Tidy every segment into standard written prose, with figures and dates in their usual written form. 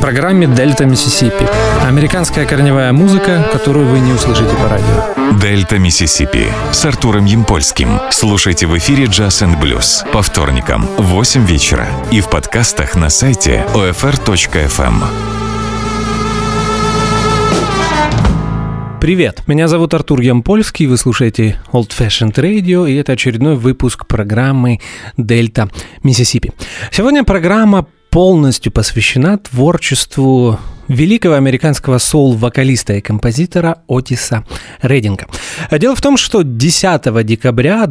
программе «Дельта Миссисипи». Американская корневая музыка, которую вы не услышите по радио. «Дельта Миссисипи» с Артуром Ямпольским. Слушайте в эфире «Джаз энд блюз» по вторникам в 8 вечера и в подкастах на сайте OFR.FM. Привет, меня зовут Артур Ямпольский, вы слушаете Old Fashioned Radio, и это очередной выпуск программы «Дельта Миссисипи». Сегодня программа полностью посвящена творчеству великого американского соул-вокалиста и композитора Отиса Реддинга. Дело в том, что 10 декабря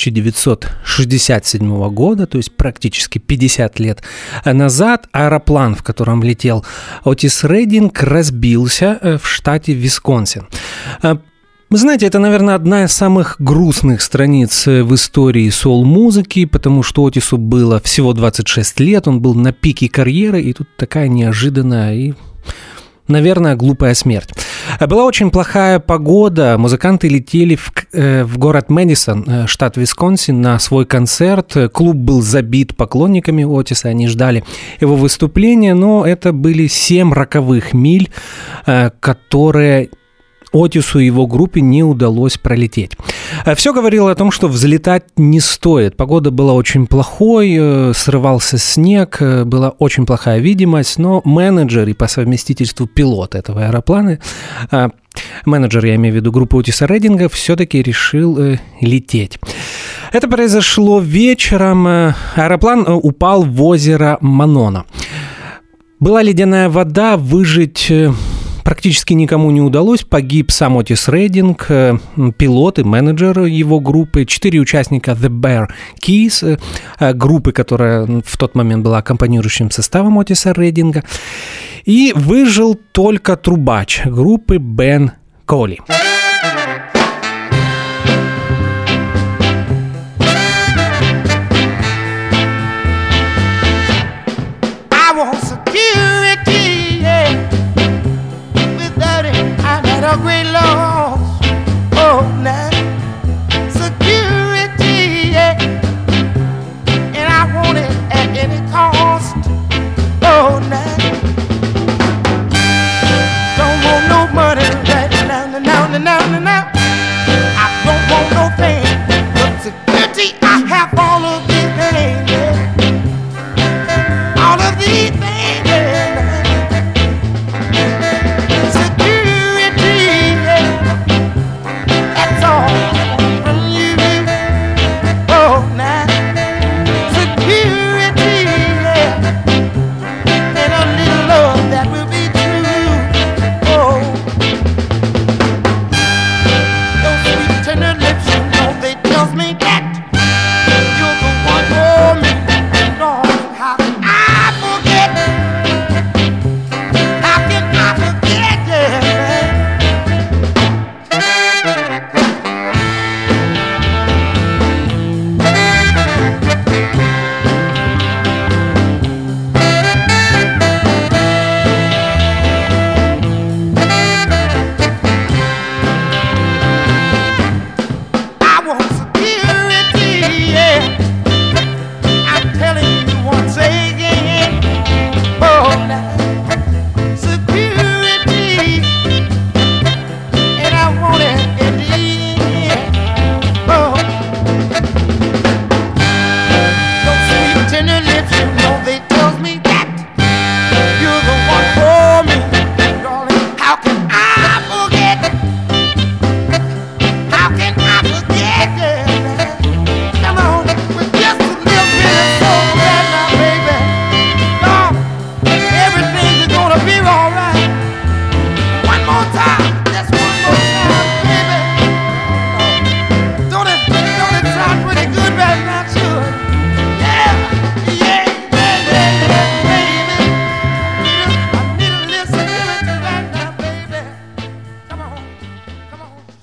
1967 года, то есть практически 50 лет назад, аэроплан, в котором летел Отис Реддинг, разбился в штате Висконсин. Вы знаете, это, наверное, одна из самых грустных страниц в истории соул-музыки, потому что Отису было всего 26 лет, он был на пике карьеры, и тут такая неожиданная и, наверное, глупая смерть. Была очень плохая погода, музыканты летели в город Мэдисон, штат Висконсин, на свой концерт. Клуб был забит поклонниками Отиса, они ждали его выступления, но это были 7 роковых миль, которые Отису и его группе не удалось пролететь. Все говорило о том, что взлетать не стоит. Погода была очень плохой, срывался снег, была очень плохая видимость, но менеджер и по совместительству пилот этого аэроплана, менеджер, я имею в виду группы Отиса Реддинга, все-таки решил лететь. Это произошло вечером. Аэроплан упал в озеро Монона. Была ледяная вода, выжить практически никому не удалось. Погиб сам Отис Реддинг, пилот и менеджер его группы, 4 участника The Bear Keys, группы, которая в тот момент была аккомпанирующим составом Отиса Реддинга. И выжил только трубач группы Бен Коли. A great loss, oh, now security, yeah, and I want it at any cost, oh, now don't want no money right now.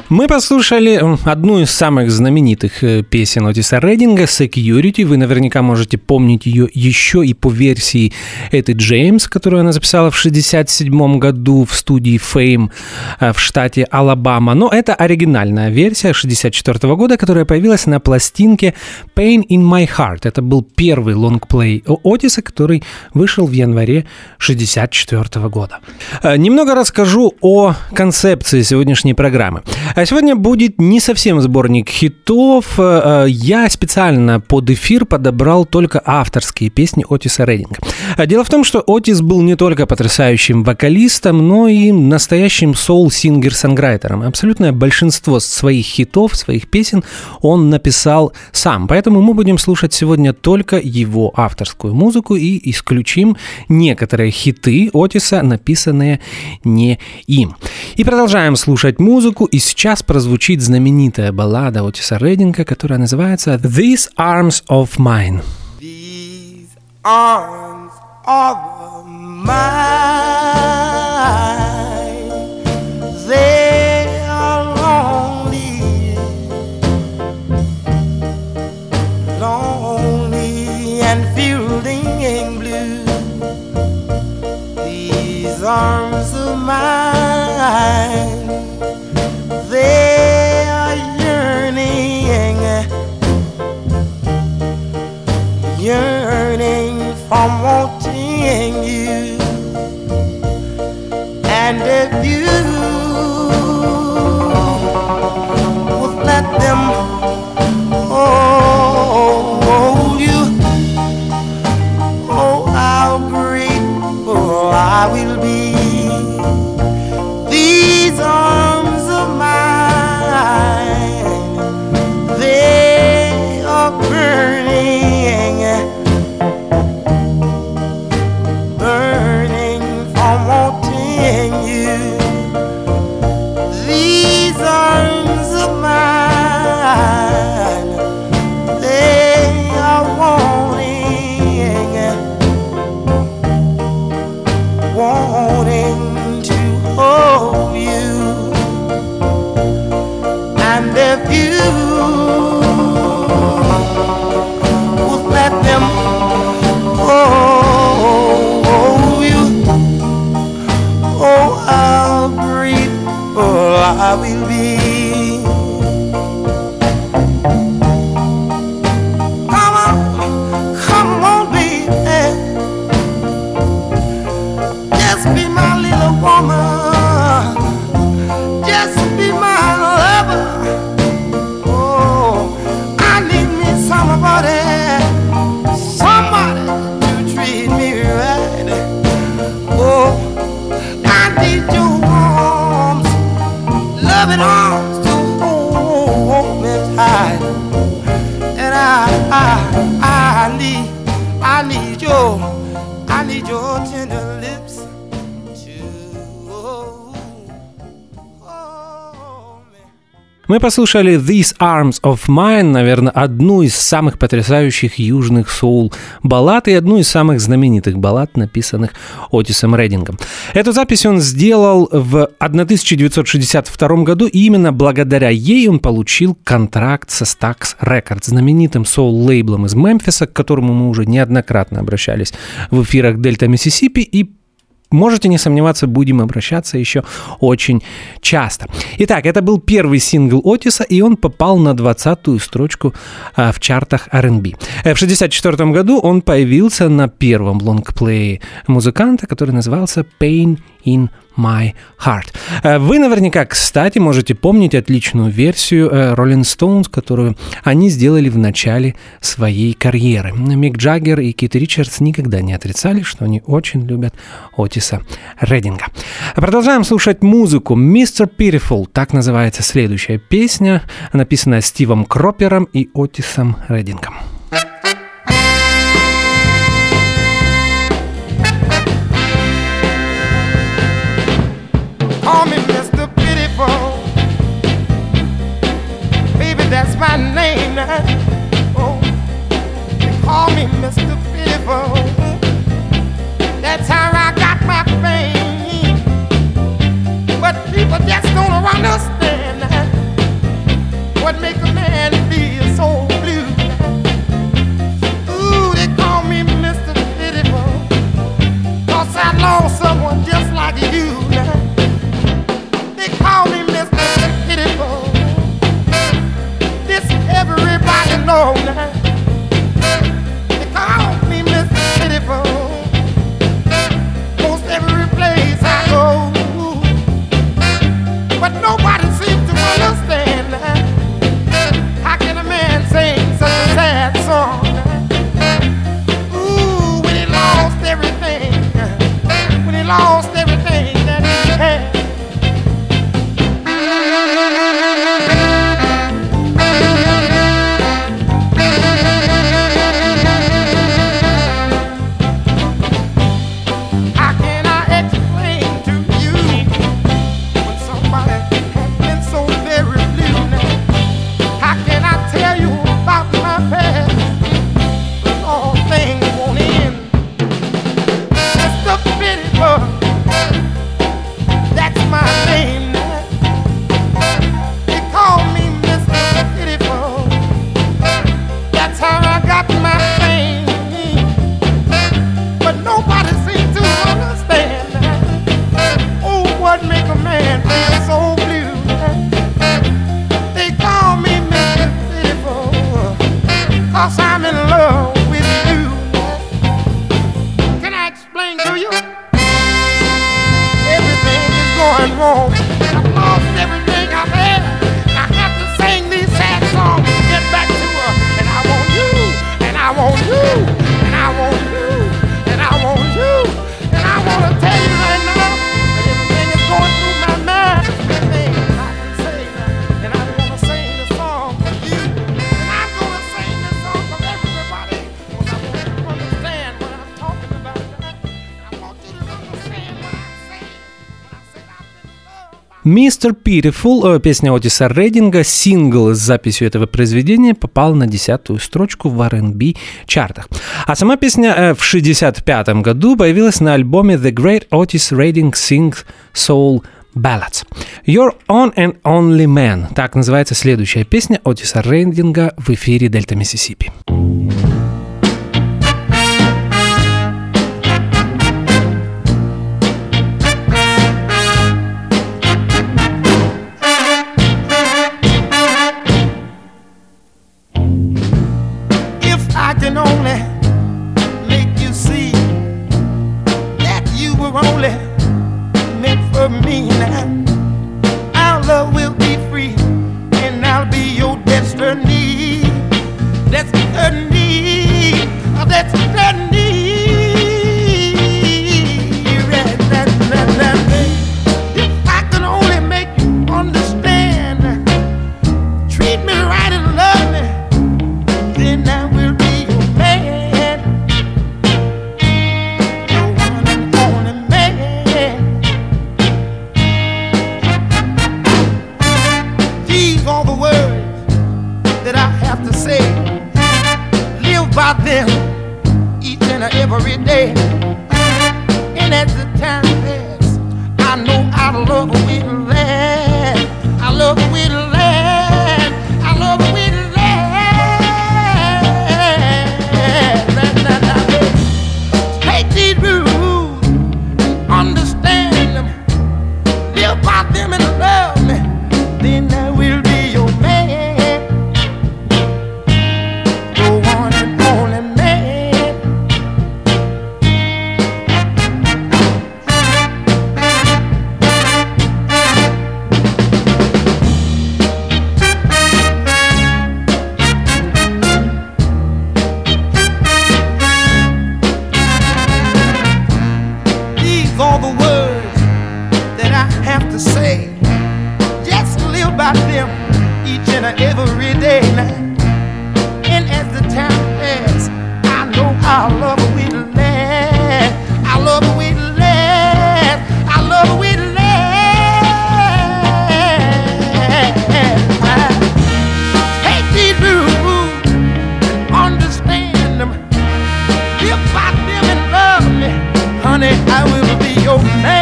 Мы послушали одну из самых знаменитых песен Отиса Реддинга «Security». Вы наверняка можете помнить ее еще и по версии Эты Джеймс, которую она записала в 1967 году в студии Fame в штате Алабама. Но это оригинальная версия 1964 года, которая появилась на пластинке «Pain in My Heart». Это был первый лонгплей Отиса, который вышел в январе 1964 года. Немного расскажу о концепции сегодняшней программы. А сегодня будет не совсем сборник хитов. Я специально под эфир подобрал только авторские песни Отиса Реддинга. Дело в том, что Отис был не только потрясающим вокалистом, но и настоящим соул-сингер-сонграйтером. Абсолютное большинство своих хитов, своих песен он написал сам. Поэтому мы будем слушать сегодня только его авторскую музыку и исключим некоторые хиты Отиса, написанные не им. И продолжаем слушать музыку, и сейчас прозвучит знаменитая баллада Отиса Реддинга, которая называется «These Arms of Mine». These arms of mine, they are lonely, lonely and fielding blue. These arms of mine, they are yearning from wanting you. And if you would let them hold you, oh, how grateful I will be. These arms of mine, they are burning, burning from wanting you. These arms of mine, they are wanting to hold you. And if you would let them hold you, oh, how grateful I will be. Come on, baby, just be my little woman, just be my lover. Oh, I need me somebody to treat me right. Oh, I need your arms, loving arms to hold me tight. And I need your tender lips to hold me. Мы послушали «These Arms of Mine», наверное, одну из самых потрясающих южных соул-баллад и одну из самых знаменитых баллад, написанных Отисом Реддингом. Эту запись он сделал в 1962 году, и именно благодаря ей он получил контракт со Stax Records, знаменитым соул-лейблом из Мемфиса, к которому мы уже неоднократно обращались в эфирах Дельта Миссисипи, и можете не сомневаться, будем обращаться еще очень часто. Итак, это был первый сингл Отиса, и он попал на 20-ю строчку в чартах R&B. В 1964 году он появился на первом лонгплее музыканта, который назывался «Pain in My Heart». Вы наверняка, кстати, можете помнить отличную версию Rolling Stones, которую они сделали в начале своей карьеры. Мик Джаггер и Кит Ричардс никогда не отрицали, что они очень любят Отиса Реддинга. Продолжаем слушать музыку. «Mr. Pitiful» — так называется следующая песня, написанная Стивом Кропером и Отисом Реддингом. Call me Mr. Pitiful, baby, that's my name now. Oh, they call me Mr. Pitiful, that's how I got my fame. But people just don't understand that just like you now. They call me Mr. Pitiful. This everybody know now. They call me Mr. Pitiful. Most every place I go, but nobody seems to understand now. How can a man sing such a sad song? Ooh, when he lost everything, when he lost everything that he had. How can I explain to you when somebody has been so very blue now? How can I tell you about my past when all things won't end? That's the pitiful. That's my name now. They call me Mr. Pitiful. That's how I got my fame. But nobody seems to understand that. Oh, what make a man feel so blue? They call me Mr. Pitiful, 'cause I'm in love with you. Can I explain to you? Everything is going wrong. I've lost everything I've had. I have to sing these sad songs to get back to her. And I want you, and I want you, and I want you, and I want you. And I want to tell you right now that everything is going through my mind. Everything I can say now. And I'm going to sing the song for you. And I'm going to sing this song for everybody. Because I want you to understand what I'm talking about. I want you to understand what I'm saying. When I said I'm in love. Mr. Pitiful, песня Отиса Рейдинга, сингл с записью этого произведения попал на 10-ю строчку в R&B чартах. А сама песня в 1965 году появилась на альбоме The Great Otis Redding Sings Soul Ballads. Your Own and Only Man. Так называется следующая песня Отиса Рейдинга в эфире Дельта Миссисипи. If I can only make you see that you were only meant for me now, our love will be free and I'll be your destiny. Destiny, destiny. If I can only make you understand, treat me right and love me, then I will be your man, your one and only man. These are the words that I have to say. Live by them each and every day. And as the time passes, I know our love will last. Our love will last. Our love will last. Take these rules and understand them. Live by them and love me. Then I will be your man. Your one and only man. These are the words that I have to say. Just live by them each and every day now. And as the time passes, I know our love will last. Our love will last. Our love will last. Take these rules and understand them. Live by them and love me. Honey, I will be your man.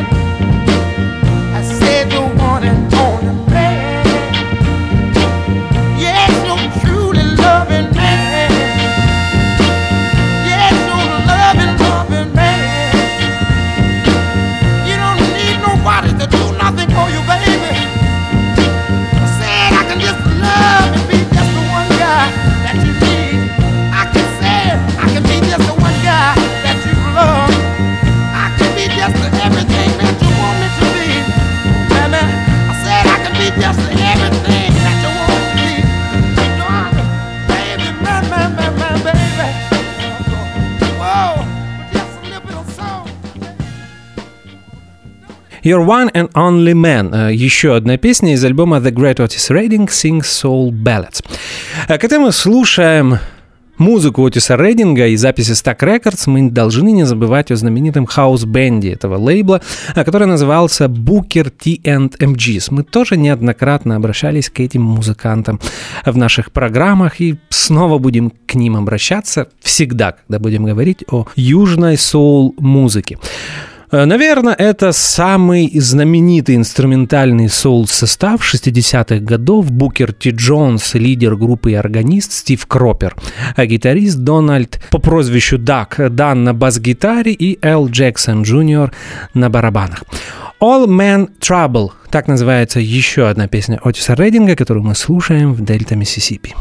I said the one and only man. You're One and Only Man. Еще одна песня из альбома The Great Otis Redding Sings Soul Ballads. Когда мы слушаем музыку Отиса Реддинга и записи Stack Records, мы должны не забывать о знаменитом хаус-бенде этого лейбла, который назывался Booker T and MGs. Мы тоже неоднократно обращались к этим музыкантам в наших программах и снова будем к ним обращаться всегда, когда будем говорить о южной соул-музыке. Наверное, это самый знаменитый инструментальный соул-состав 60-х годов. Букер Ти Джонс, лидер группы и органист Стив Кропер, а гитарист Дональд по прозвищу Дак Дан на бас-гитаре и Эл Джексон Джуниор на барабанах. All Man Trouble, так называется еще одна песня Отиса Реддинга, которую мы слушаем в Дельта Миссисипи.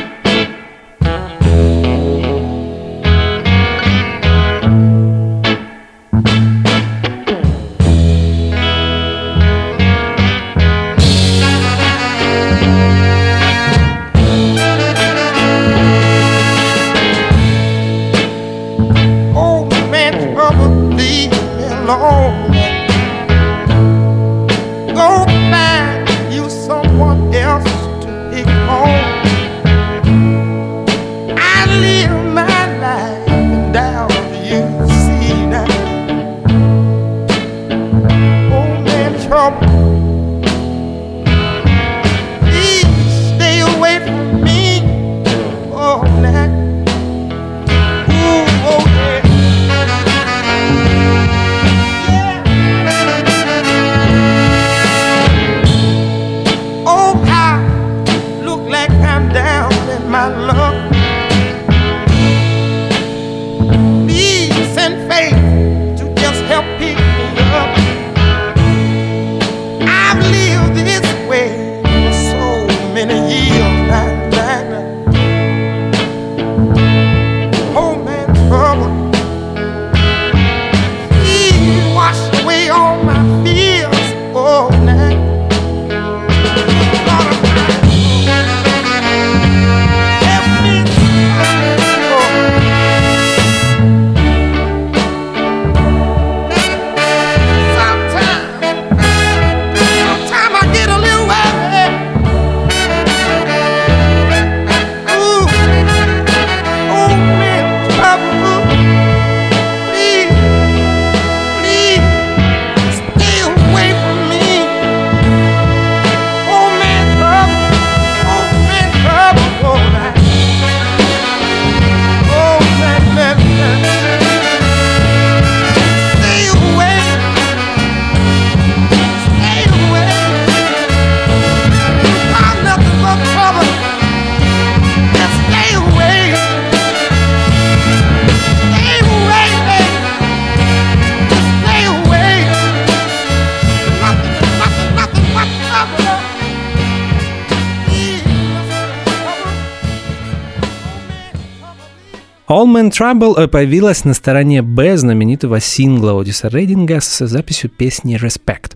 All Man Trouble появилась на стороне Б знаменитого сингла Отиса Реддинга с записью песни Respect.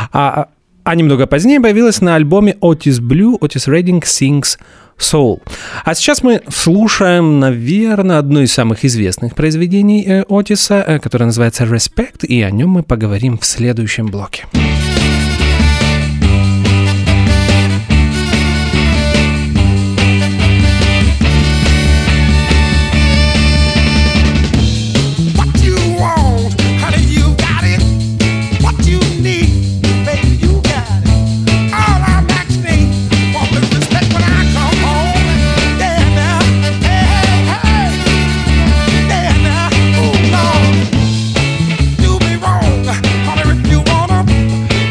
А немного позднее появилась на альбоме Otis Blue Otis Redding Sings Soul. А сейчас мы слушаем, наверное, одно из самых известных произведений Отиса, которое называется Respect, и о нем мы поговорим в следующем блоке. Do me wrong, honey, if you wanna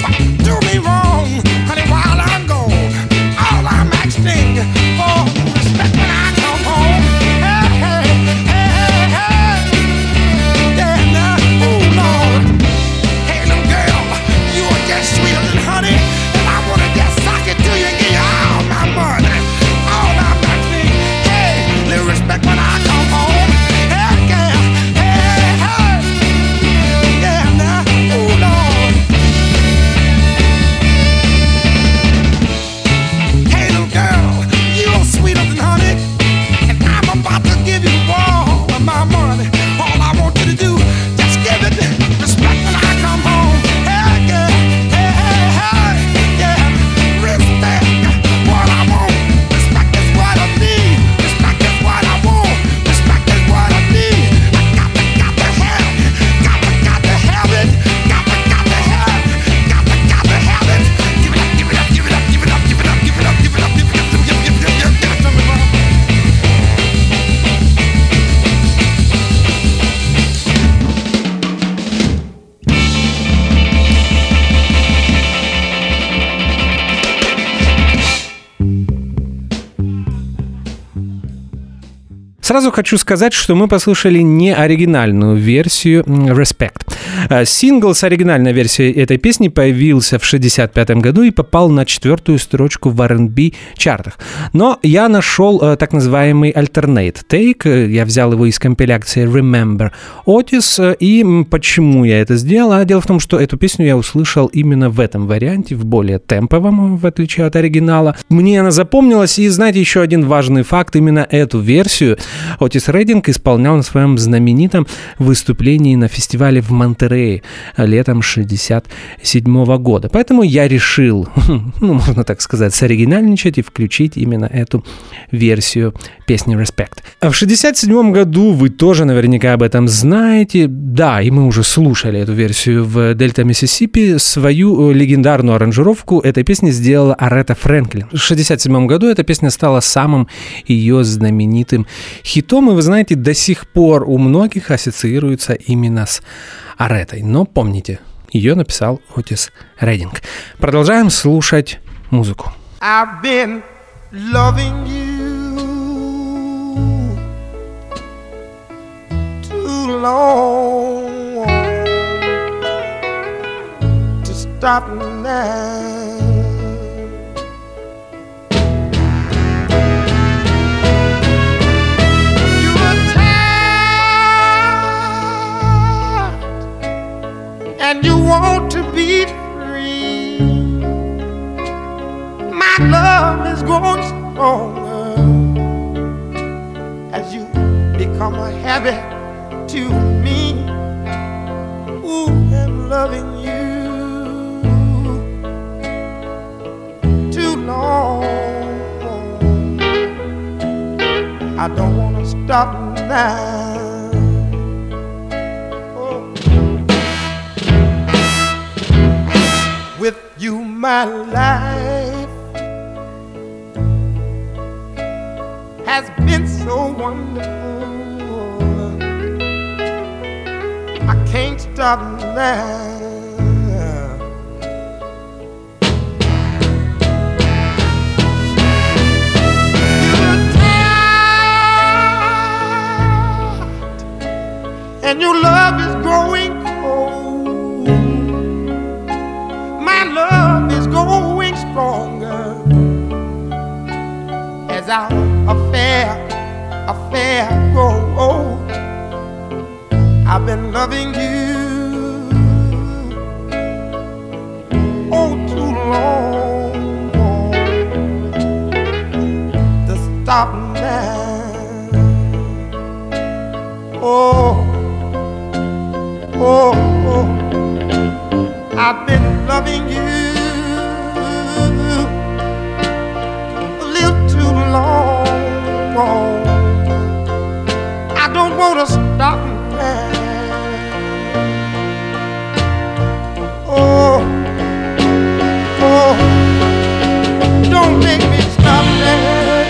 Сразу хочу сказать, что мы послушали не оригинальную версию «Respect». Сингл с оригинальной версией этой песни появился в 1965 году и попал на 4-ю строчку в R&B чартах. Но я нашел так называемый alternate take. Я взял его из компиляции Remember Otis. И почему я это сделал? Дело в том, что эту песню я услышал именно в этом варианте, в более темповом, в отличие от оригинала. Мне она запомнилась. И знаете, еще один важный факт. Именно эту версию Отис Рейдинг исполнял на своем знаменитом выступлении на фестивале в Монтерее летом 1967 года. Поэтому я решил, можно так сказать, соригинальничать и включить именно эту версию песни «Respect». В 1967 году, вы тоже наверняка об этом знаете, да, и мы уже слушали эту версию в Дельта Миссисипи, свою легендарную аранжировку этой песни сделала Аретта Фрэнклин. В 1967 году эта песня стала самым ее знаменитым хитом, и вы знаете, до сих пор у многих ассоциируется именно с Ареттой. Но помните, ее написал Отис Рейдинг. Продолжаем слушать музыку. I've been loving you too long to stop now. You were tired and you want to be free. My love is growing stronger as you become a habit to me. Ooh, I'm loving you too long. I don't want to stop now. Oh. With you, my life has been so wonderful. I can't stop now. You're tired and your love is growing cold. My love is growing stronger as our affair grow old. I've been loving you oh too long to stop now. Oh, oh, oh. I've been loving you a little too long. I don't want to stop now. Oh, oh, don't make me stop now.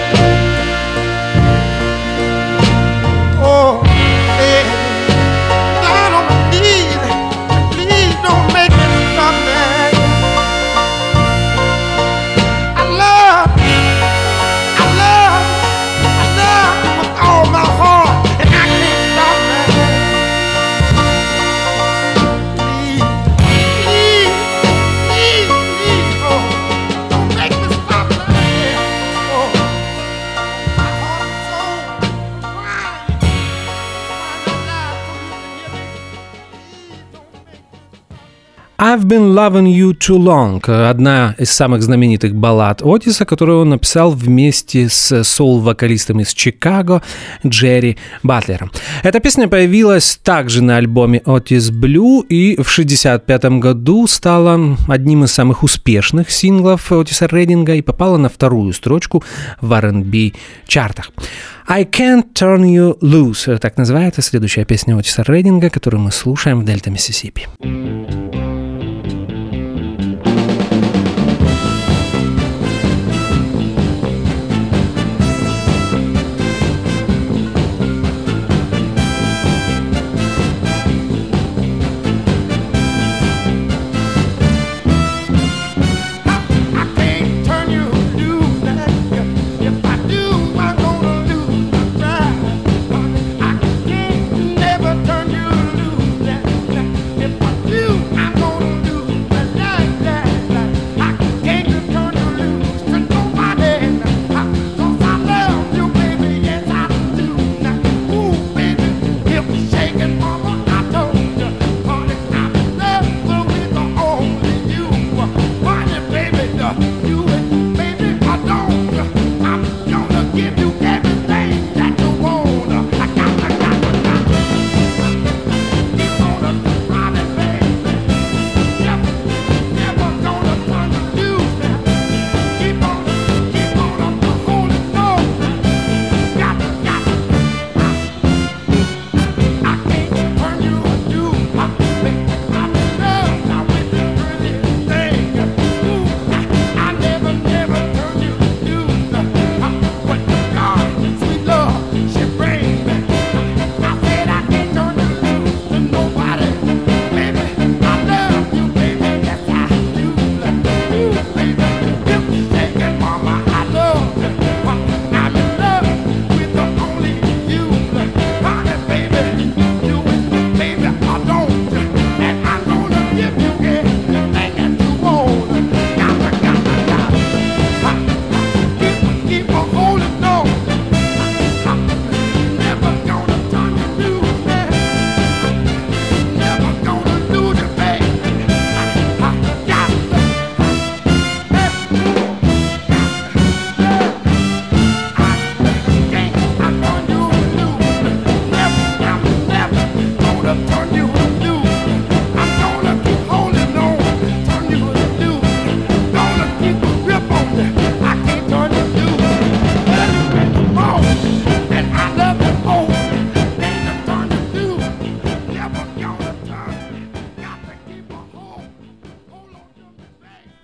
Oh, hey, down on my knees, please don't make me stop now. I love with all my heart, and I can't stop now. Please, oh, don't make me stop now. Oh, my heart and soul crying out loud so you can hear me. Please don't make me. I've been loving you too long. Одна из самых знаменитых баллад Отиса, которую он написал вместе с соул-вокалистом из Чикаго Джерри Батлером. Эта песня появилась также на альбоме Otis Blue и в 1965 году стала одним из самых успешных синглов Отиса Рейдинга и попала на 2-ю строчку в R&B чартах. I Can't Turn You Loose. Так называется следующая песня Отиса Рейдинга, которую мы слушаем в Дельта Миссисипи. I can't turn you loose. If I do, I'm gonna lose my pride.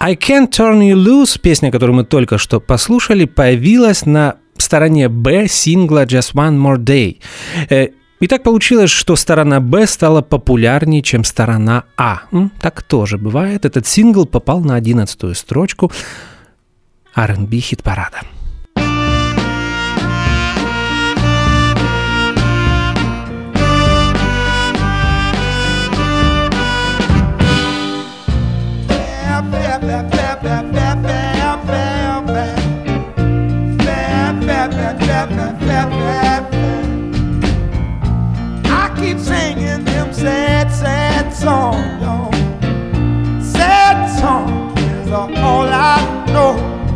I Can't Turn You Loose, песня, которую мы только что послушали, появилась на стороне Б сингла Just One More Day. И так получилось, что сторона Б стала популярнее, чем сторона А. Так тоже бывает. Этот сингл попал на 11-ю строчку R&B хит-парада. I keep singing them sad, sad songs, y'all. Sad songs is all I know.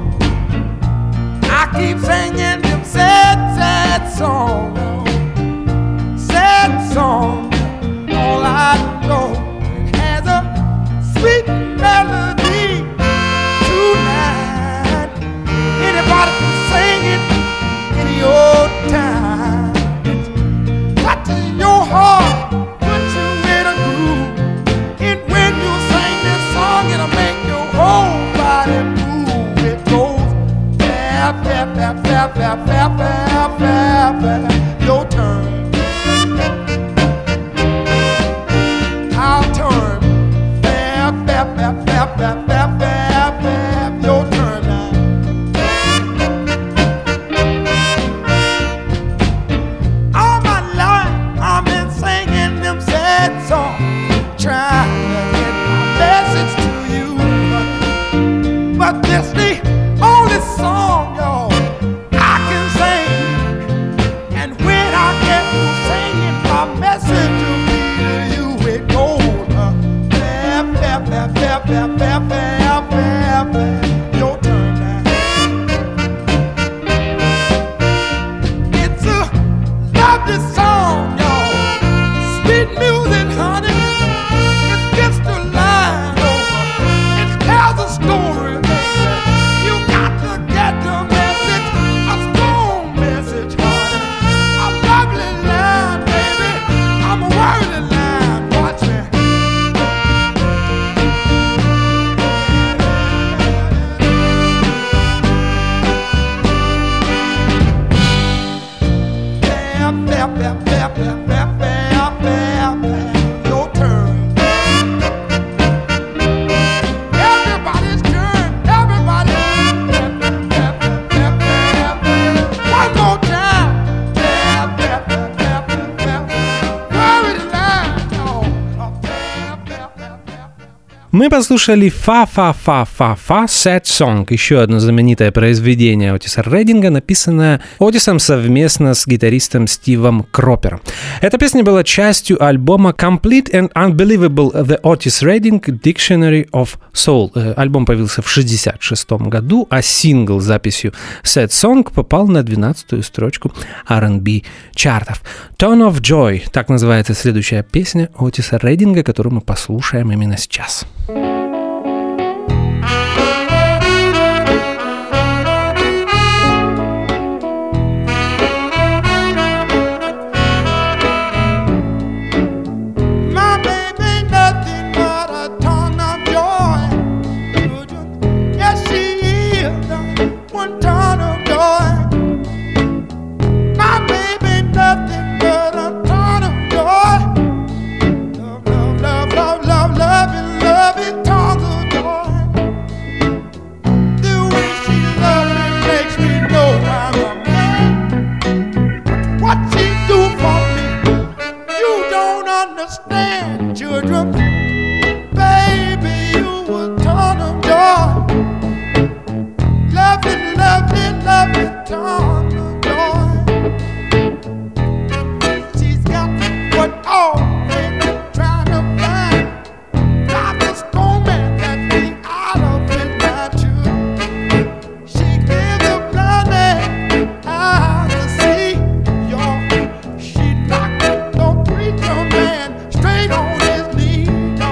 I keep singing them sad, sad songs, y'all. Sad songs, all I know. It has a sweet melody tonight. Anybody can sing it any old time. Touch your heart, put you in a groove. And when you sing this song, it'll make your whole body move. It goes bap, bap, bap, bap, bap, bap, bap, bap, bap. Your turn. I'll turn. Bap, bap, bap, bap, bap, bap, bap, bap. Your turn now. All my life I've been singing them sad songs, trying to get my message to you, but this the only song, y'all, I can sing. And when I get to singing, my message will be to you. It goes bap, bap, bap, bap, bap, bap, bap, bap, bap. Your turn now. It's a lovely song, y'all. Sweet music, honey. It's just a line over. It tells a story, baby. You got to get the message, a strong message, honey. A lovely line, baby. I'm a worthy line. Watch me. Bap, bap, bap, bap, bap, bap, bap, bap. Your turn. Everybody's turn. Everybody. Bap, bap, bap, bap, bap. One more time. Bap, bap, bap, bap, bap, bap. Worry the line. Oh, bap, bap, bap, bap. Мы послушали «Фа-фа-фа-фа-фа» «Sad Song», еще одно знаменитое произведение Отиса Рейдинга, написанное Отисом совместно с гитаристом Стивом Кропером. Эта песня была частью альбома «Complete and Unbelievable The Otis Redding Dictionary of Soul». Альбом появился в 1966 году, а сингл с записью «Sad Song» попал на 12-ю строчку R&B чартов. «Tone of Joy» — так называется следующая песня Отиса Рейдинга, которую мы послушаем именно сейчас. My baby ain't nothing but a ton of joy. Yes, she is one ton of joy. My baby ain't nothing but a ton of joy. Love, love, love, love, love, love it, tons of joy. The way she loves me makes me know I'm a man. What she do for me, you don't understand, children. Baby, you a ton of joy. Love it, love it, love it, ton of joy. She's got what all men are trying to find. Got the storm man that be out of his mind, too. She gives a blind man eyes to see, y'all. She knocked the preacher man straight on his knee, y'all.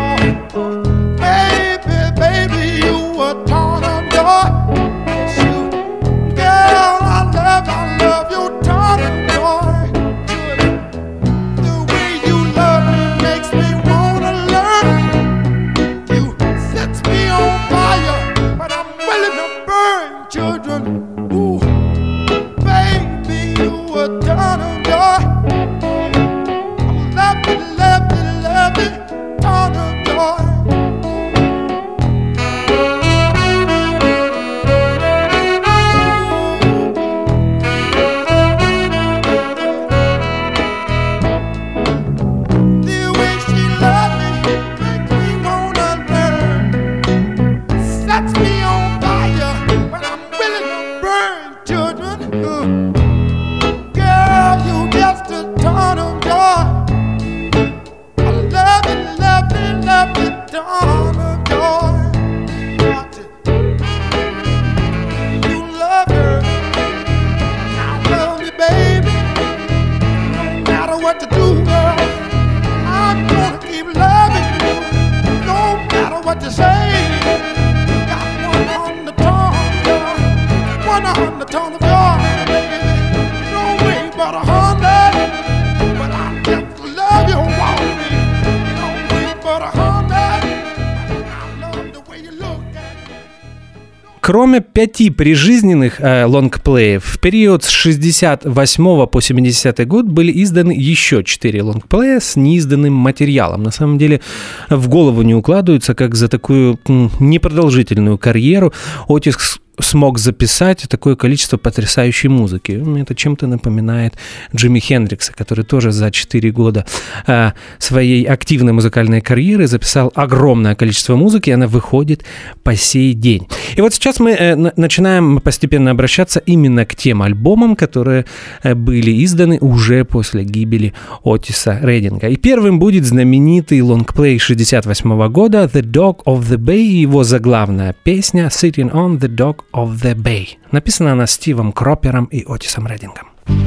Кроме 5 прижизненных лонгплеев, в период с 68 по 70 год были изданы еще 4 лонгплея с неизданным материалом. На самом деле в голову не укладывается, как за такую непродолжительную карьеру Отис смог записать такое количество потрясающей музыки. Это чем-то напоминает Джимми Хендрикса, который тоже за 4 года своей активной музыкальной карьеры записал огромное количество музыки, и она выходит по сей день. И вот сейчас мы начинаем постепенно обращаться именно к тем альбомам, которые были изданы уже после гибели Отиса Рейдинга. И первым будет знаменитый лонгплей 68 года «The Dock of the Bay» и его заглавная песня «Sitting on the Dock of the Bay». Написана она Стивом Кропером и Отисом Рейдингом.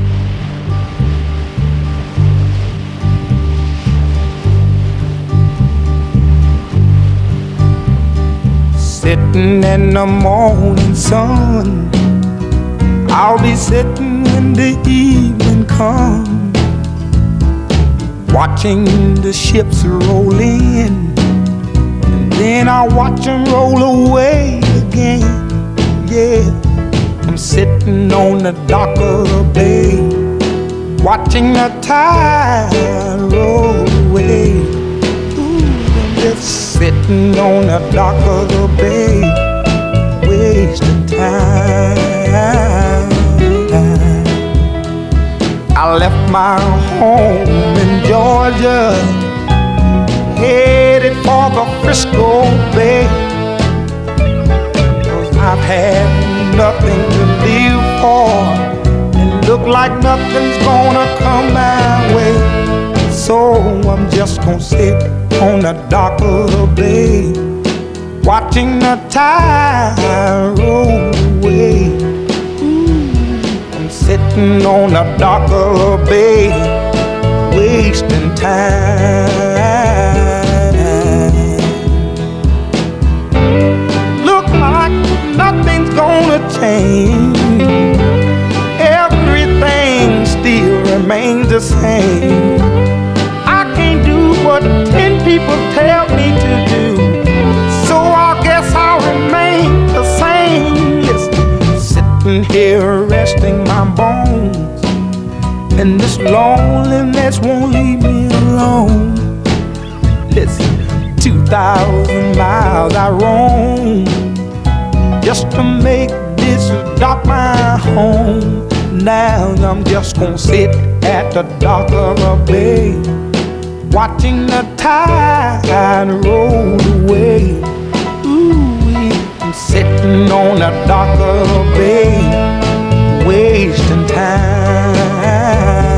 Sitting in the morning sun, I'll be sitting when the evening comes, watching the ships roll in, and then I'll watch them roll away again. Yeah, I'm sitting on the dock of the bay, watching the tide roll away. Ooh, I'm just sitting on the dock of the bay, wasting time. I left my home in Georgia, headed for the Frisco Bay. I've had nothing to live for, and look like nothing's gonna come my way. So I'm just gonna sit on the dock of the bay, watching the tide roll away. I'm sitting on the dock of the bay, wasting time. Nothing's gonna change. Everything still remains the same. I can't do what 10 people tell me to do, so I guess I'll remain the same. Listen, sitting here resting my bones, and this loneliness won't leave me alone. Listen, 2,000 miles I roam just to make this dock my home. Now I'm just gonna sit at the dock of a bay, watching the tide roll away. Ooh, I'm sitting on the dock of a bay, wasting time.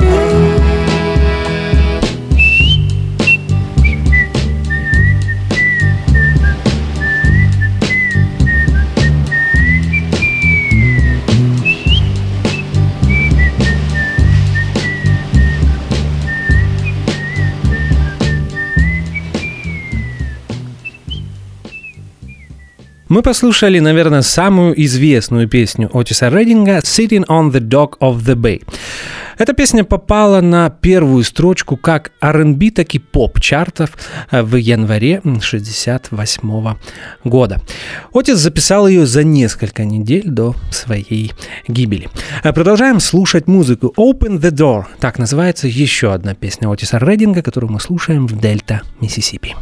Мы послушали, наверное, самую известную песню Отиса Рейдинга «Sitting on the Dock of the Bay». Эта песня попала на первую строчку как R&B, так и поп-чартов в январе 1968 года. Отис записал ее за несколько недель до своей гибели. Продолжаем слушать музыку. «Open the Door» — так называется еще одна песня Отиса Рейдинга, которую мы слушаем в Дельта, Миссисипи.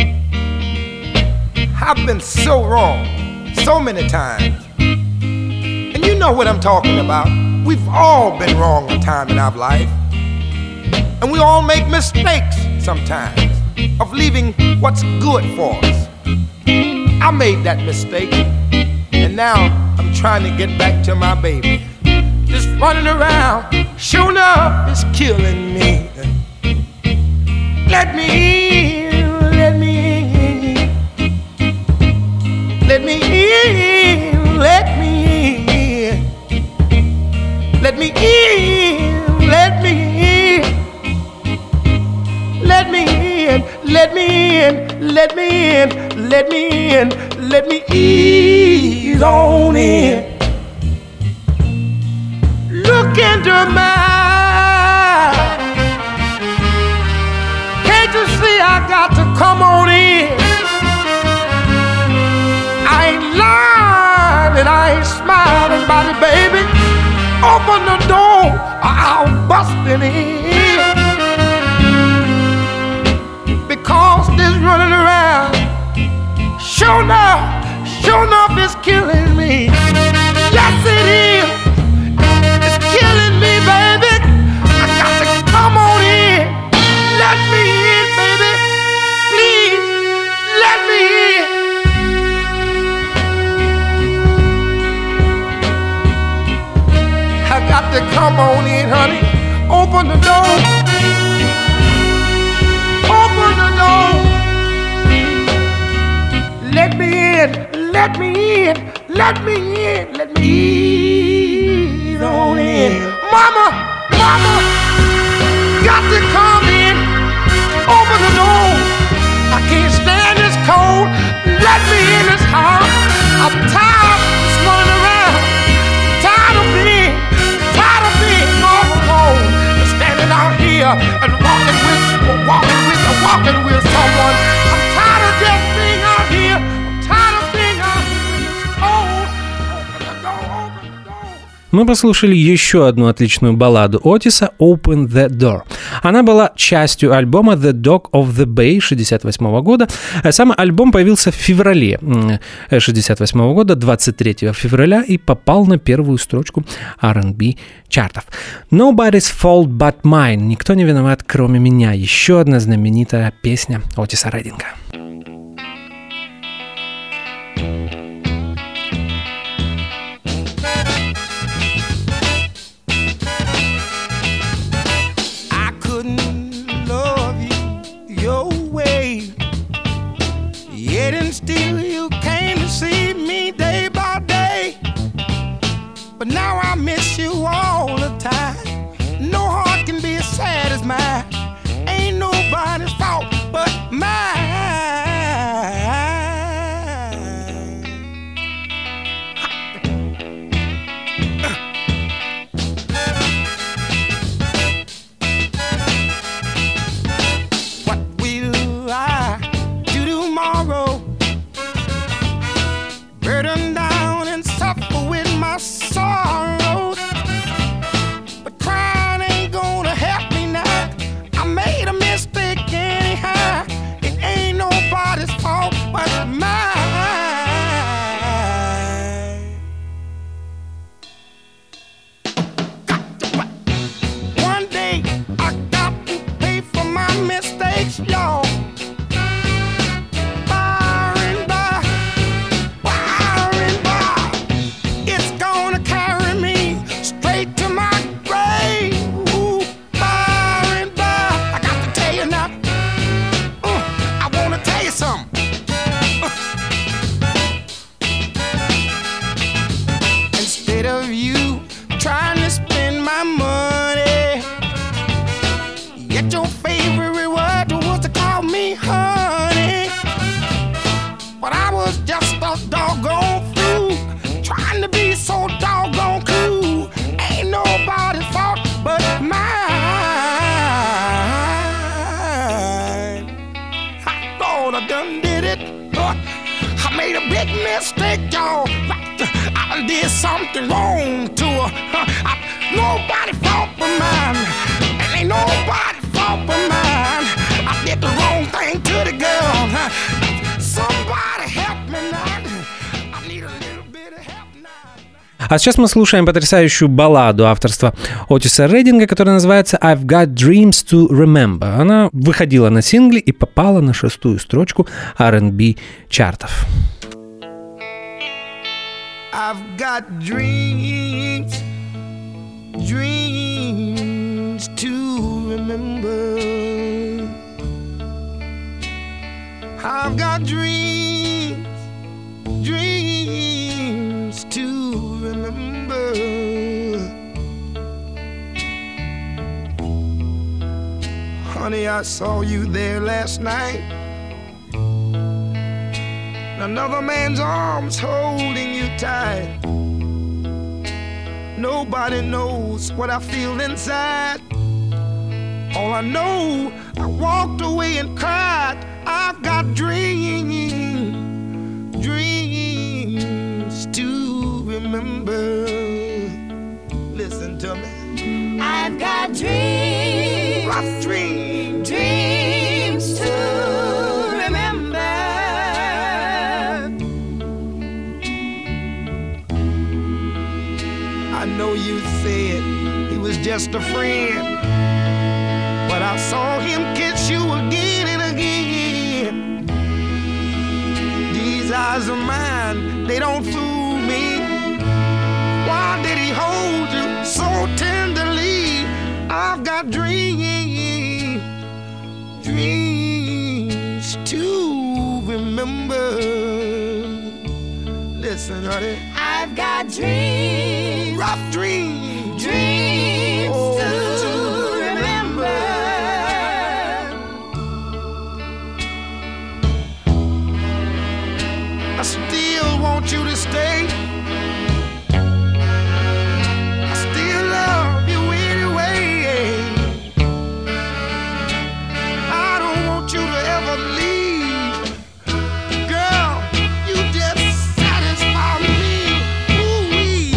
I've been so wrong so many times, and you know what I'm talking about. We've all been wrong a time in our life, and we all make mistakes sometimes of leaving what's good for us. I made that mistake, and now I'm trying to get back to my baby. Just running around, sure enough, it's killing me. Let me in, let me in. Let me in, let me in. Let me in, let me in. Let me in, let me in, let me in, let me in, let me ease on in. Look into my eyes. Can't you see I got to come on in? I ain't lying. giving in. Because this running around, sure enough is killing me. Yes, it is. It's killing me, baby. I got to come on in. Let me in, baby. Please, let me in. I got to come on in, honey. Open the door. Open the door. Let me in. Let me in. Let me in. Let me ease on in. Mama, mama, got to come in. Open the door. I can't stand this cold. Let me in this house. I'm tired of running around. Tired of being all alone. Standing out here and walking with someone. I'm tired of just being out here. I'm tired of being out here when it's cold. Open the door, open the door. Мы послушали еще одну отличную балладу Отиса «Open the Door». Она была частью альбома «The Dog of the Bay» 1968 года. Сам альбом появился в феврале 1968 года, 23 февраля, и попал на первую строчку R&B чартов. «Nobody's fault but mine» — «Никто не виноват, кроме меня» — еще одна знаменитая песня Отиса Реддинга. Yet and still you came to see me day by day. But now I miss you all the time. No heart can be as sad as mine. Ain't nobody's fault but mine. What will I do tomorrow? Burden down and suffer with my sorrows. But crying ain't gonna help me now. I made a mistake anyhow. It ain't nobody's fault but mine. One day I got to pay for my mistakes, y'all. Mistake, y'all. I did something wrong to her. Nobody fault but mine. And ain't nobody fault but mine. I did the wrong thing to the girl. Somebody help me now. I need a little bit of help now. А сейчас мы слушаем потрясающую балладу авторства Отиса Реддинга, которая называется «I've Got Dreams to Remember». Она выходила на сингле и попала на 6-ю строчку R&B чартов. I've got dreams, dreams to remember. I've got dreams, dreams to remember. Honey, I saw you there last night. Another man's arms holding you tight. Nobody knows what I feel inside. All I know, I walked away and cried. I've got dreams, dreams to remember. Listen to me. I've got dreams. just a friend. But I saw him kiss you again and again. These eyes of mine, they don't fool me. Why did he hold you so tenderly? I've got dreams, dreams to remember. Listen, honey, I've got dreams, rough dreams, dreams to remember. I still want you to stay. I still love you anyway. I don't want you to ever leave. Girl, you just satisfy me. Ooh-wee.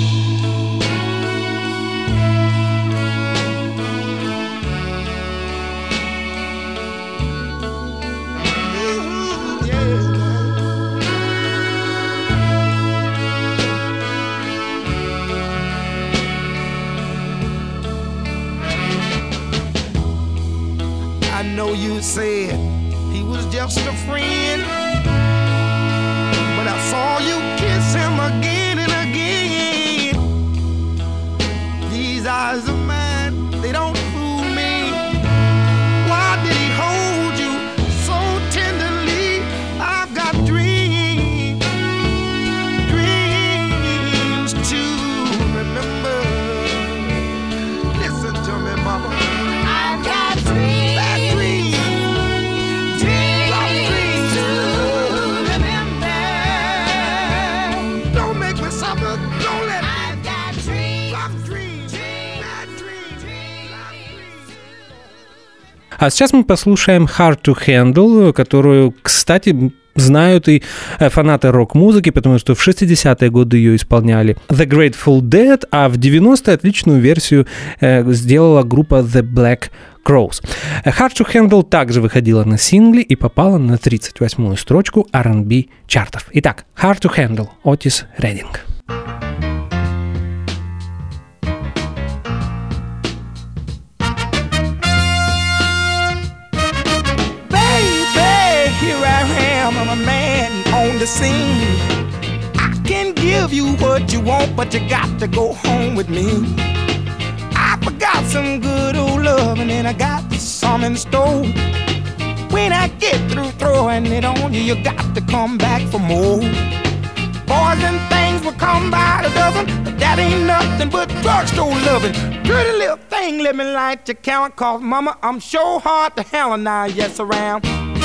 Ooh, yeah. I know you said he was just a friend, but I saw you kiss him again and again. These eyes of mine, they don't fool me. Why did he hold you so tenderly? I've got dreams, dreams to remember. Listen to me, mama. I've got dreams, Bad dreams. dreams to remember. Don't make me suffer. Don't let me. I've got dreams, Rough dreams. Bad dreams. Rough dreams. А сейчас мы послушаем Hard to Handle, которую, кстати, знают и фанаты рок-музыки, потому что в 60-е годы ее исполняли The Grateful Dead, а в 90-е отличную версию сделала группа The Black Crowes. Hard to Handle также выходила на сингле и попала на 38-ю строчку R&B чартов. Итак, Hard to Handle, Otis Redding. Baby, here I am, I'm a man on the scene. I can give you what you want, but you got to go home with me. I forgot some good old loving and I got some in store. When I get through throwing it on you, you got to come back for more. Boys and things will come by the dozen, but that ain't nothing but drugstore loving. Pretty little thing, let me light your count, cause mama, I'm sure hard to handle now, yes around.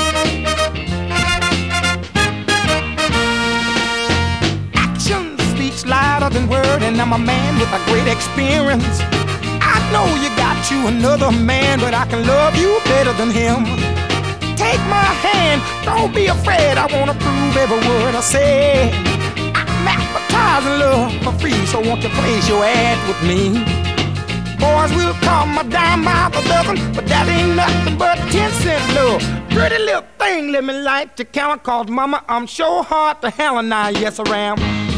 Action speaks louder than word, and I'm a man with a great experience. I know you got you another man, but I can love you better than him. Take my hand, don't be afraid, I wanna prove every word I say. I'm advertising love for free, so won't you place your ad with me? Boys will call my dime by the dozen, but that ain't nothing but 10-cent love. Pretty little thing, let me light your count, cause mama, I'm sure hard to handle now, yes around.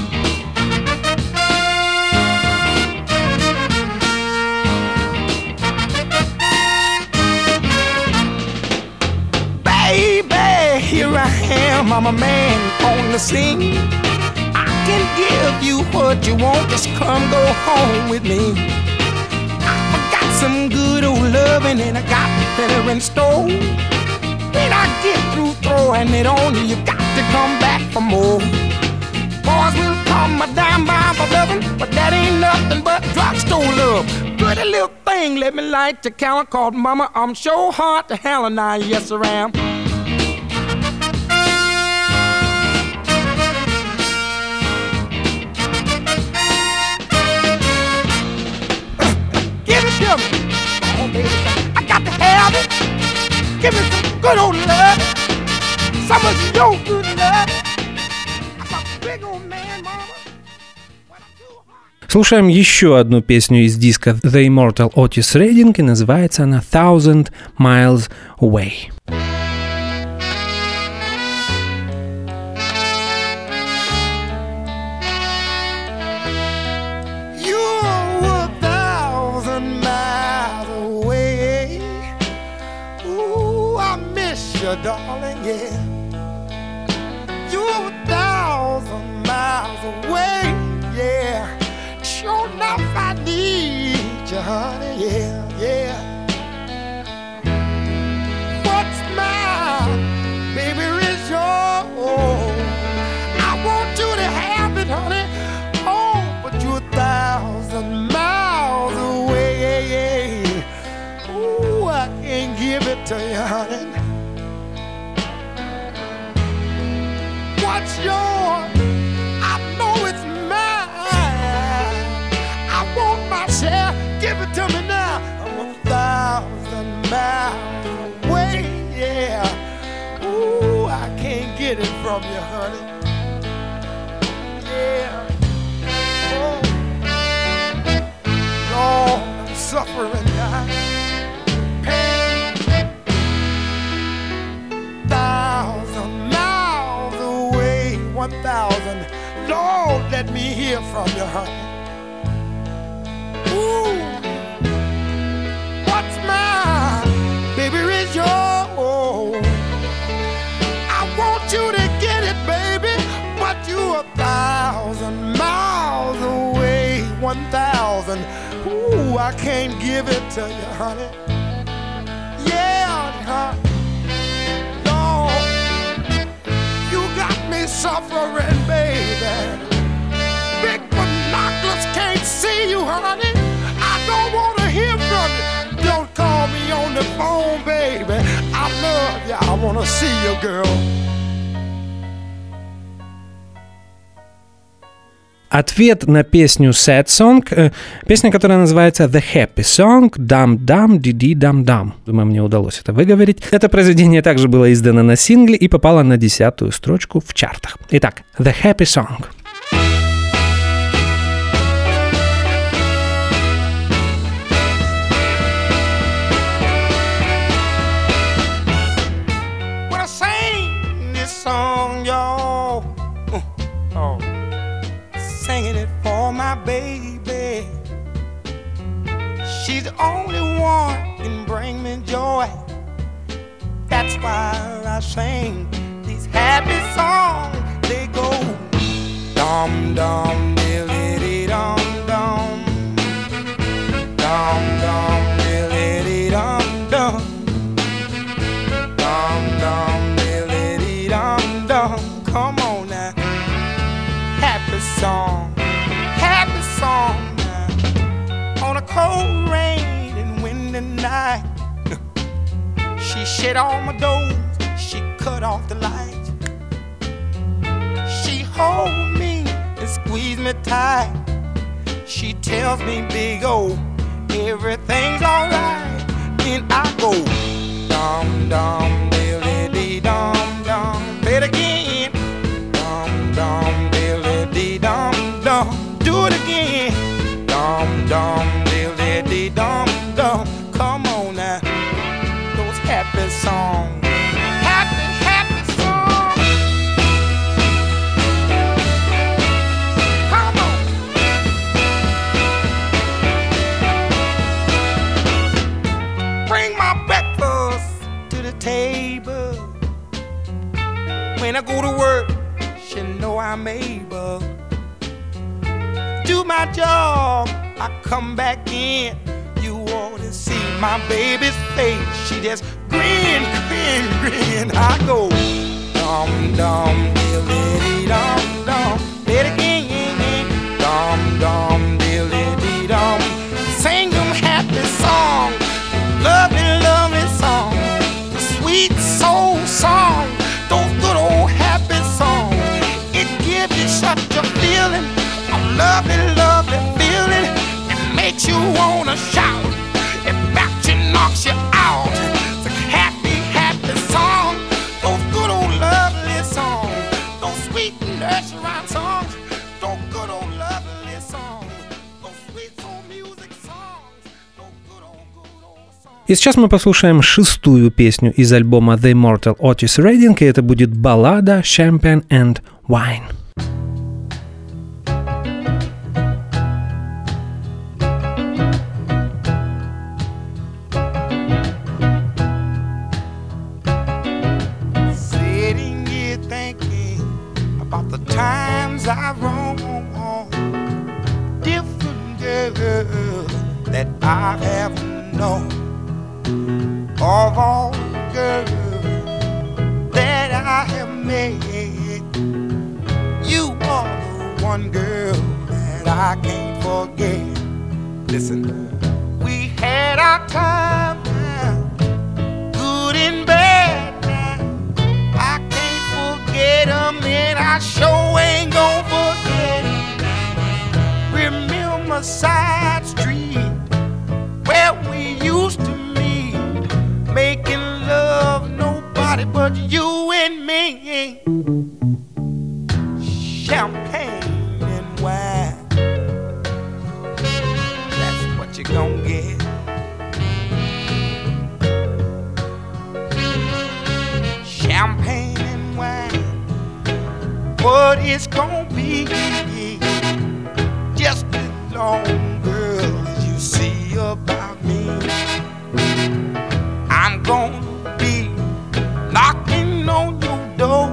Baby, here I am, I'm a man on the scene. I can give you what you want, just come go home with me. I got some good old loving and I got better in store. When I get through throwing it on you, you got to come back for more. Boys will call my dime by the dozen, but that ain't nothing but drugstore love. Pretty little thing, let me light your count, called mama, I'm sure hard to handle now, yes around. Give it to me. Oh, baby, I got to have it. Give me some good old love. Some of your good love. I'm a big old man, mama. When I'm too hard. Слушаем еще одну песню из диска The Immortal Otis Redding, и называется она «Thousand Miles Away». You're 1,000 darling, yeah. You're 1,000 miles away, yeah. Sure enough, I need you, honey, yeah, yeah. What's mine, baby, is yours. I want you to have it, honey. Oh, but you're 1,000 miles away, yeah, yeah. Ooh, I can't give it to you, honey. What's yours? I know it's mine. I want my share. Give it to me now. I'm 1,000 miles away, yeah. Ooh, I can't get it from you, honey. Yeah. Oh, Lord, I'm suffering now. Pain. 1,000 miles away, 1,000. Lord, let me hear from you, honey. Ooh, what's mine, baby, is yours. I want you to get it, baby, but you're 1,000 miles away, 1,000. Ooh, I can't give it to you, honey. Yeah, honey. Lord, you got me suffering, baby. Big binoculars can't see you, honey. I don't want to hear from you. Don't call me on the phone, baby. I love you. I want to see you, girl. Ответ на песню Sad Song, песня, которая называется The Happy Song, Dam-Dam, Didi-Dam-Dam. Думаю, мне удалось это выговорить. Это произведение также было издано на сингле и попало на 10-ю строчку в чартах. Итак, The Happy Song. When I sing this song, y'all, singing it for my baby. She's the only one can bring me joy. That's why I sing these happy songs. They go dum dum diddly dum dum, dum dum diddly dum dum, dum dum diddly dum dum. Come on now, happy song now. On a cold rain and windy night, she shut all my doors, she cut off the lights. She hold me and squeeze me tight. She tells me, big O, everything's alright. Then I go dum dum diddly dum dum. Play it again. Dum dum diddly dum dum. Do it again. Dum dum diddly dum dum. Come on now, those happy songs. Happy songs. Come on. Bring my breakfast to the table. When I go to work, she know I'm able. Do my job, I come back in. You ought to see my baby's face. She just grin, grin, grin. I go dum dum diddly dum dum. Play it again. Dum dum diddly dum. Sing them happy songs, lovely, lovely songs, the sweet soul song, those good old happy songs. It gives you such a feeling, a lovely, lovely feeling. It makes you wanna shout. It backs you, knocks you out. It's a happy, happy song. Those good old lovely songs, those sweet nursery rhyme songs, those good old lovely songs, those sweet soul music songs, those good old songs. И сейчас мы послушаем 6-ю песню из альбома The Immortal Otis Redding, и это будет баллада Champagne and Wine. times I roam different girls that I have known. Of all the girls that I have met, you are the one girl that I can't forget. Listen, we had our time now, good and bad now. I can't forget 'em and I sure ain't gon' forget 'em. Remember side street where we used to meet, making love, nobody but you and me. Champagne and wine, that's what you gon' get. Champagne and wine, what it's gon' be. Just as long, girl, as you see about me, I'm gonna be knocking on your door.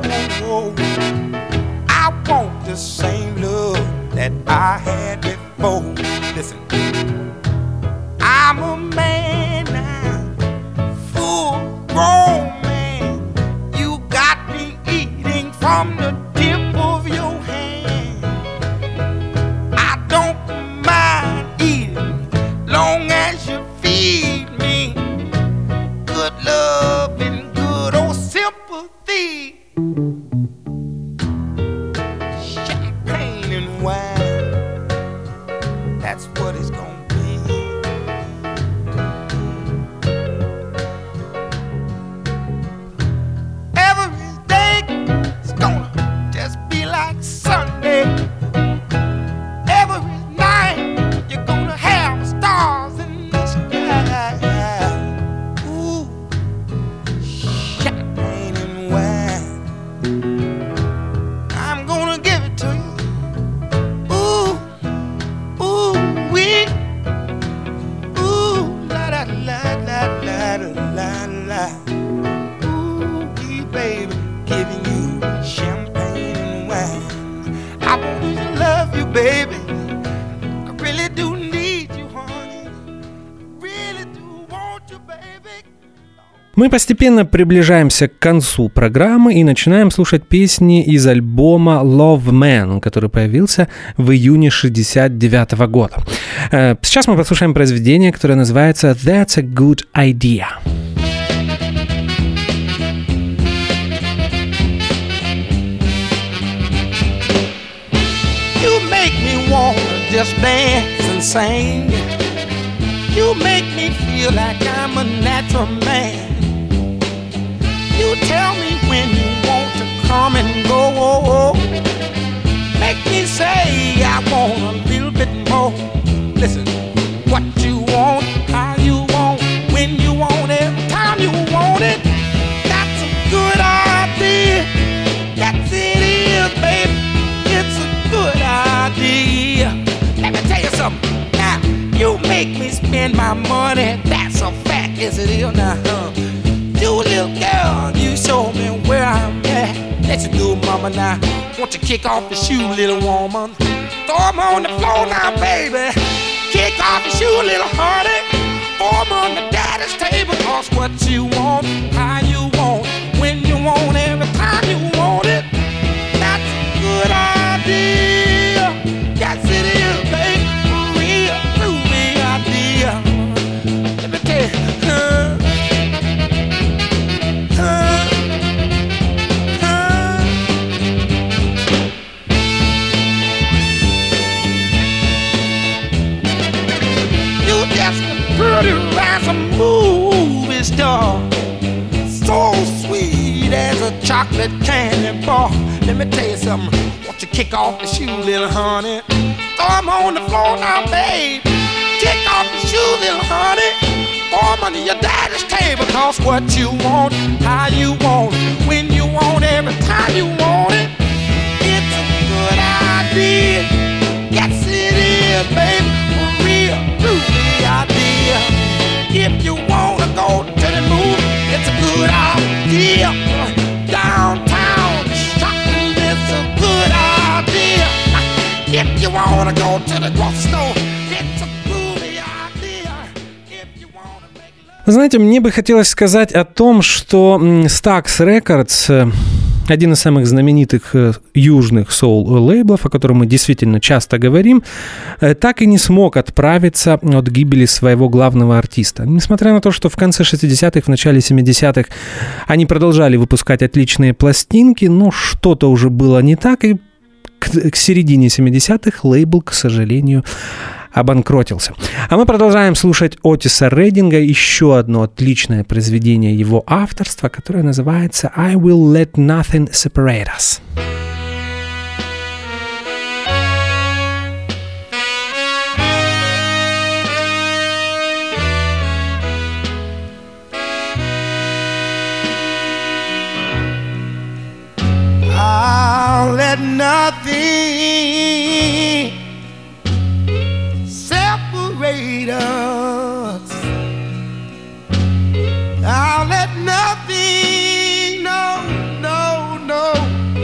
I want the same love that I had before. Listen, I'm a man now, full grown man. You got me eating from the tip of your hand. I don't mind eating long as you feed me good love and good old sympathy. Champagne and wine, that's what it's gonna be. Every day is gonna just be like Sunday. Every night you're gonna have stars in the sky. Ooh, champagne and wine, I'm gonna give it to you. Ooh, ooh, wee, ooh, la la la la la la la. Ooh, wee, baby, giving you champagne and wine. I want to love you, baby. I really do need you, honey. Really do want you, baby. Мы постепенно приближаемся к концу программы и начинаем слушать песни из альбома Love Man, который появился в июне 1969 года. Сейчас мы послушаем произведение, которое называется That's a Good Idea. You make me wanna just dance and sing. You make me feel like I'm a natural man. You tell me when you want to come and go. Make me say I want a little bit more. Listen, what you want, how you want, when you want it, time you want it. That's a good idea. That's it is, baby. It's a good idea. Let me tell you something. Now, you make me spend my money. That's a fact, yes it is. Now, you little girl, you show me where I'm at. Let you do, mama, now. Want you kick off the shoe, little woman. Throw 'em on the floor now, baby. Kick off the shoe, little honey. Throw 'em on the daddy's table. Cause what you want, how you want, when you want, every time you want it. That's a good idea. Yes, it is, baby. Real, groovy idea. Let me tell you, you just a pretty as a movie star, so sweet as a chocolate candy bar. Let me tell you something. Won't you kick off the shoe, little honey? Throw 'em on the floor now, babe. Kick off the shoe, little honey. Throw 'em under your daddy's table. Cause what you want, how you want, when you want, every time you want it. It's a good idea. Yes, it is, baby. A real groovy idea. If you wanna go to the movie, it's a good idea. Downtown shopping, it's a good idea. If you wanna go to the grocery store, it's a groovy idea. If you wanna make love. Вы знаете, мне бы хотелось сказать о том, что Stax Records, один из самых знаменитых южных соул-лейблов, о котором мы действительно часто говорим, так и не смог отправиться от гибели своего главного артиста. Несмотря на то, что в конце 60-х, в начале 70-х они продолжали выпускать отличные пластинки, но что-то уже было не так, и к середине 70-х лейбл, к сожалению, обанкротился. А мы продолжаем слушать Отиса Рейдинга, еще одно отличное произведение его авторства, которое называется «I Will Let Nothing Separate Us». I'll let nothing separate us. I'll let nothing, no,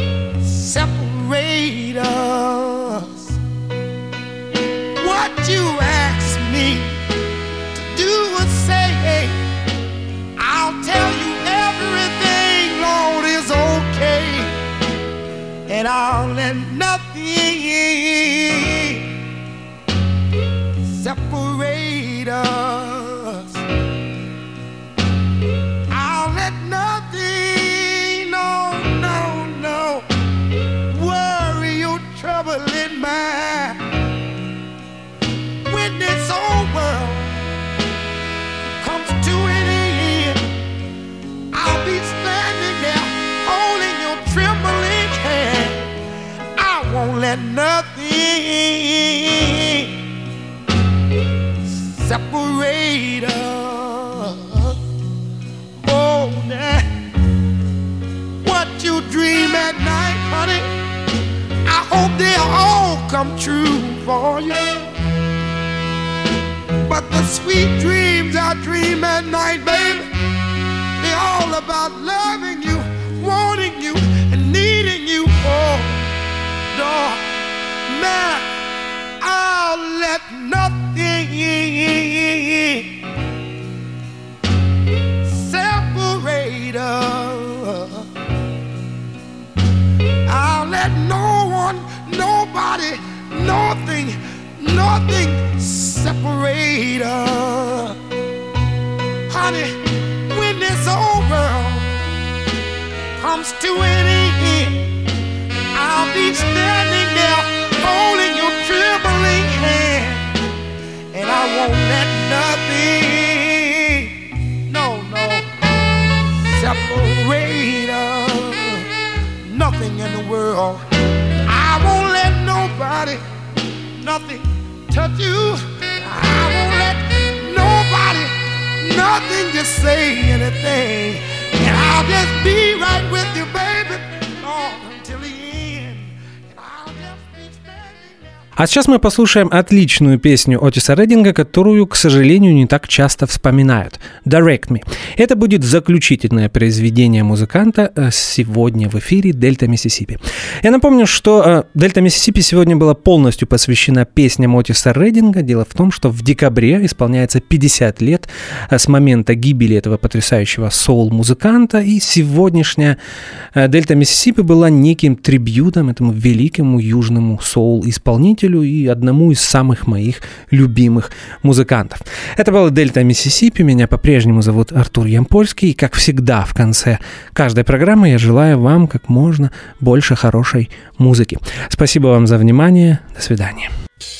separate us. What you ask me to do or say, I'll tell you everything, Lord, is okay. And I'll let nothing separate us. I'll let nothing, no, worry or trouble in mind. When this old world comes to an end, I'll be standing there holding your trembling hand. I won't let nothing separate us. Oh, now, what you dream at night, honey, I hope they all come true for you. But the sweet dreams I dream at night, baby, they're all about loving you, wanting you, and needing you. Oh, Lord, man, I'll let nothing separate us. I'll let no one, nobody, nothing separate us. Honey, when this old world comes to an end, I'll be standing there holding your trembling hand. And I won't let nothing, no, separate us. Nothing in the world. I won't let nobody, nothing touch you. I won't let nobody, nothing just say anything. And I'll just be right with you, baby, until the end. And I'll just be standing there. А сейчас мы послушаем отличную песню Отиса Рейдинга, которую, к сожалению, не так часто вспоминают. «Direct Me». Это будет заключительное произведение музыканта сегодня в эфире «Дельта Миссисипи». Я напомню, что «Дельта Миссисипи» сегодня была полностью посвящена песням Отиса Рейдинга. Дело в том, что в декабре исполняется 50 лет с момента гибели этого потрясающего соул-музыканта, и сегодняшняя «Дельта Миссисипи» была неким трибьютом этому великому южному соул-исполнителю и одному из самых моих любимых музыкантов. Это была «Дельта Миссисипи». Меня по-прежнему зовут Артур Ямпольский. И, как всегда, в конце каждой программы я желаю вам как можно больше хорошей музыки. Спасибо вам за внимание. До свидания.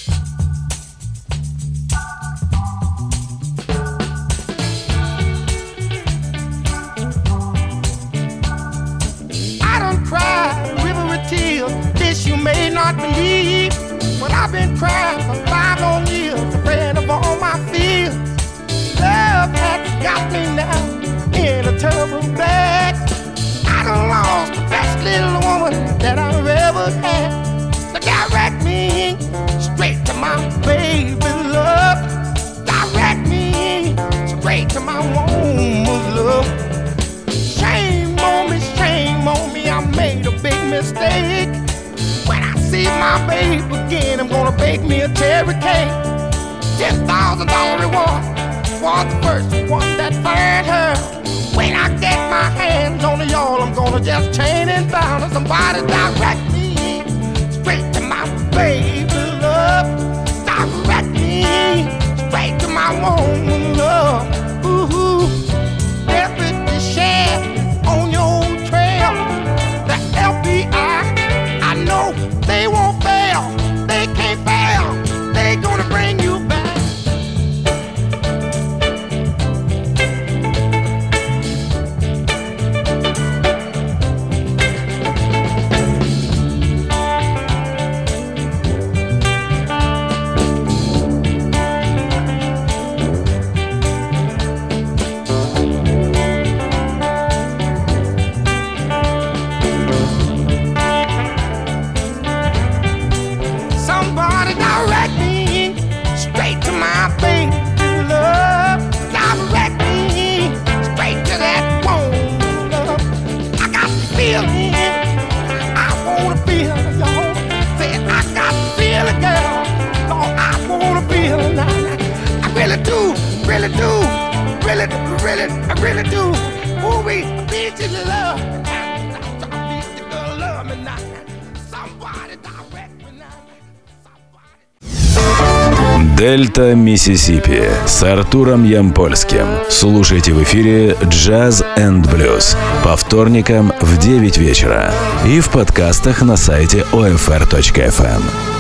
But I've been crying for 5 long years, afraid of all my fears. Love has got me now in a terrible bag. I done lost the best little woman that I've ever had. So direct me straight to my baby love. Direct me straight to my woman's love. Shame on me, I made a big mistake. When I see see my babe again, I'm gonna bake me a cherry cake. $10,000 reward for the first one that find her. When I get my hands on the y'all, I'm gonna just chain and bound her. Somebody direct me straight to my baby love. Direct me straight to my woman love. Ooh, every share on your trail. The FBI, I know they won't fail. They can't fail. They gonna bring you back. Somebody direct me straight to my baby love. Direct me straight to that woman love. I got the feeling, I wanna feel it, y'all. Say I got the feeling, girl. Lord, I wanna feel it now. I really do, really do, I really do. Ooh, we need you to love me now. I need you to love me now. Somebody direct me now. Дельта Миссисипи с Артуром Ямпольским. Слушайте в эфире Jazz and Blues по вторникам в 9 вечера и в подкастах на сайте OFR.FM.